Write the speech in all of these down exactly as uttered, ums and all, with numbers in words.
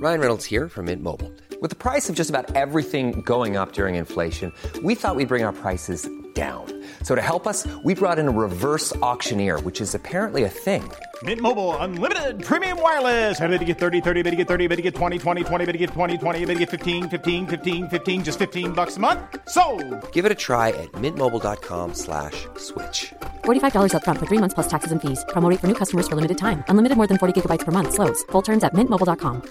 Ryan Reynolds here from Mint Mobile. With the price of just about everything going up during inflation, we thought we'd bring our prices down. So to help us, we brought in a reverse auctioneer, which is apparently a thing. Mint Mobile Unlimited Premium Wireless. How to get thirty, thirty, how to get thirty, how to get twenty, twenty, twenty, how to get twenty, twenty, how to get fifteen, fifteen, fifteen, fifteen, just fifteen bucks a month? Sold! Give it a try at mintmobile.com slash switch. forty-five dollars up front for three months plus taxes and fees. Promo rate for new customers for limited time. Unlimited more than forty gigabytes per month. Slows full terms at mint mobile dot com.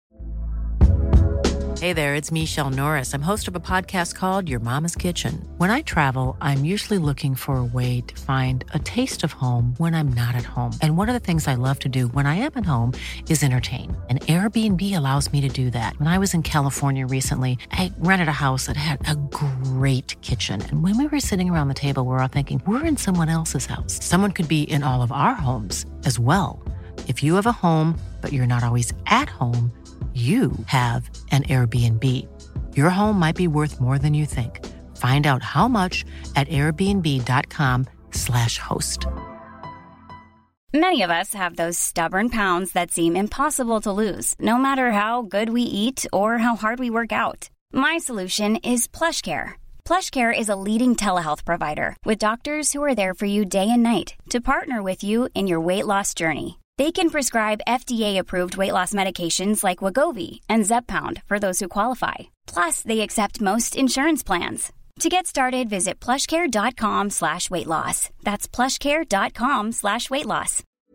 Hey there, it's Michelle Norris. I'm host of a podcast called Your Mama's Kitchen. When I travel, I'm usually looking for a way to find a taste of home when I'm not at home. And one of the things I love to do when I am at home is entertain. And Airbnb allows me to do that. When I was in California recently, I rented a house that had a great kitchen. And when we were sitting around the table, we're all thinking, we're in someone else's house. Someone could be in all of our homes as well. If you have a home, but you're not always at home, you have an Airbnb. Your home might be worth more than you think. Find out how much at airbnb.com slash host. Many of us have those stubborn pounds that seem impossible to lose, no matter how good we eat or how hard we work out. My solution is PlushCare. PlushCare is a leading telehealth provider with doctors who are there for you day and night to partner with you in your weight loss journey. They can prescribe F D A-approved weight loss medications like Wegovy and Zepbound for those who qualify. Plus, they accept most insurance plans. To get started, visit plushcare.com slash weight loss. That's plushcare.com slash weight loss.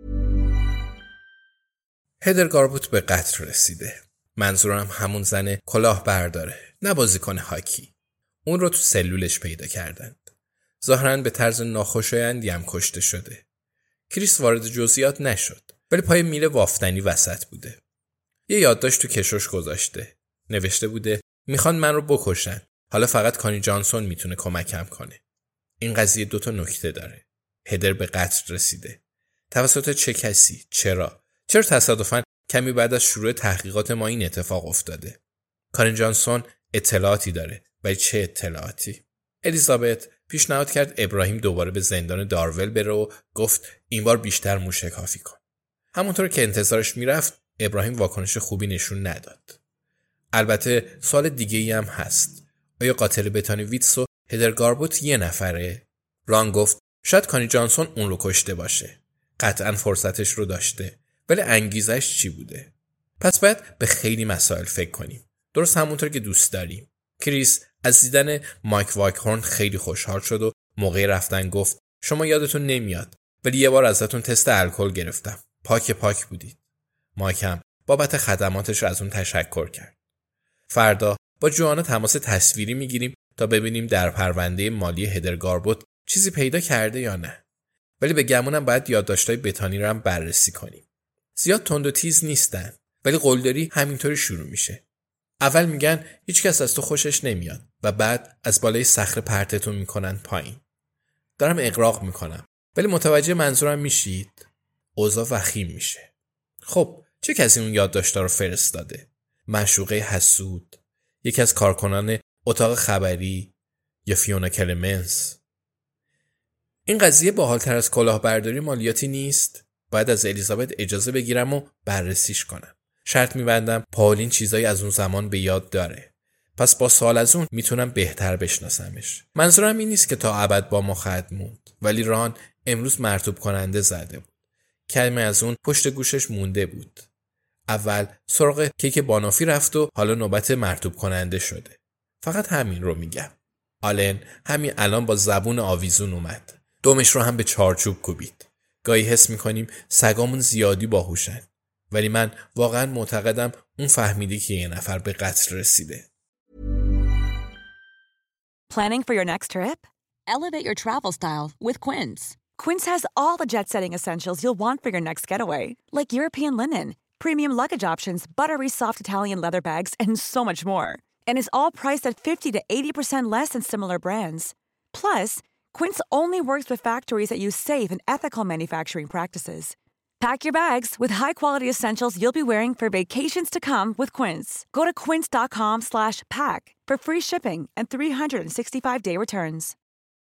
هدر گاربوت به قتل رسیده. منظورم همون زن کلاه برداره، نه بازیکن هاکی. اون رو تو سلولش پیدا کردند. ظاهراً به طرز ناخوشایندی هم کشته شده. کریس وارد جزئیات نشد، ولی پای میله وافتنی وسط بوده. یه یادداشت تو کشوش گذاشته. نوشته بوده میخوان من رو بکشن. حالا فقط کانی جانسون میتونه کمکم کنه. این قضیه دوتا نکته داره. هدر به قتل رسیده. توسط چه کسی؟ چرا؟ چرا تصادفاً کمی بعد از شروع تحقیقات ما این اتفاق افتاده؟ کانی جانسون اطلاعاتی داره، ولی چه اطلاعاتی؟ الیزابت پیشنهاد کرد ابراهیم دوباره به زندان دارول بره و گفت این بار بیشتر موشکافی کن. همونطور که انتظارش میرفت ابراهیم واکنش خوبی نشون نداد. البته سوال دیگه ای هم هست. آیا قاتل بتانی ویتس و هدر گاربوت یه نفره؟ ران گفت شاید کانی جانسون اون رو کشته باشه. قطعاً فرصتش رو داشته. ولی انگیزش چی بوده؟ پس باید به خیلی مسائل فکر کنیم. درست همونطور که دوست داریم. کریس از دیدن مایک وایکهورن خیلی خوشحال شد و موقع رفتن گفت شما یادتون نمیاد ولی یه بار ازتون تست الکل گرفتم. پاک پاک بودید. مایک هم بابت خدماتش رو از اون تشکر کرد. فردا با جوانا تماس تصویری میگیریم تا ببینیم در پرونده مالی هدر گاربوت چیزی پیدا کرده یا نه. ولی به گمونم باید یادداشت‌های بتانی رو هم بررسی کنیم. زیاد تند و تیز نیستن ولی قلدری همینطوری شروع میشه. اول میگن هیچ کس از تو خوشش نمیاد و بعد از بالای صخره پرتتون میکنن پایین. دارم اغراق میکنم ولی متوجه منظورم میشید؟ اوضاع وخیم میشه. خب چه کسی اون یادداشت‌ها رو فرستاده؟ معشوقه حسود، یکی از کارکنان اتاق خبری یا فیونا کلمنس؟ این قضیه باحال‌تر از کلاهبرداری مالیاتی نیست؟ باید از الیزابت اجازه بگیرم و بررسیش کنم. شرط میبندم پاولین چیزایی از اون زمان به یاد داره. پس با سوال از اون میتونم بهتر بشناسمش. منظورم این نیست که تا ابد با ما خواهد موند، ولی ران امروز مرطوب کننده زده بود. کلمه از اون پشت گوشش مونده بود. اول سراغ کیک بانافی رفت و حالا نوبت مرطوب کننده شده. فقط همین رو میگم. آلن همین الان با زبون آویزون اومد. دومش رو هم به چارچوب کوبید. گاهی حس میکنیم سگامون زیادی باهوشن. ولی من واقعا معتقدم اون فهمیدی که یه نفر به قتل رسیده. Planning for your next trip? Elevate your travel style with Quince. Quince has all the jet-setting essentials you'll want for your next getaway, like European linen, premium luggage options, buttery soft Italian leather bags, and so much more. And is all priced at fifty to eighty percent less than similar brands. Plus, Quince only works with factories that use safe and ethical manufacturing practices. Pack your bags with high-quality essentials you'll be wearing for vacations to come with Quince. Go to quince.com slash pack for free shipping and three sixty-five day returns.